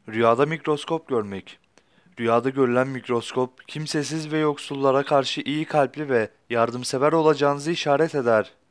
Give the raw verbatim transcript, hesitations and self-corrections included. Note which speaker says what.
Speaker 1: Rüyada mikroskop görmek. Rüyada görülen mikroskop, kimsesiz ve yoksullara karşı iyi kalpli ve yardımsever olacağınızı işaret eder.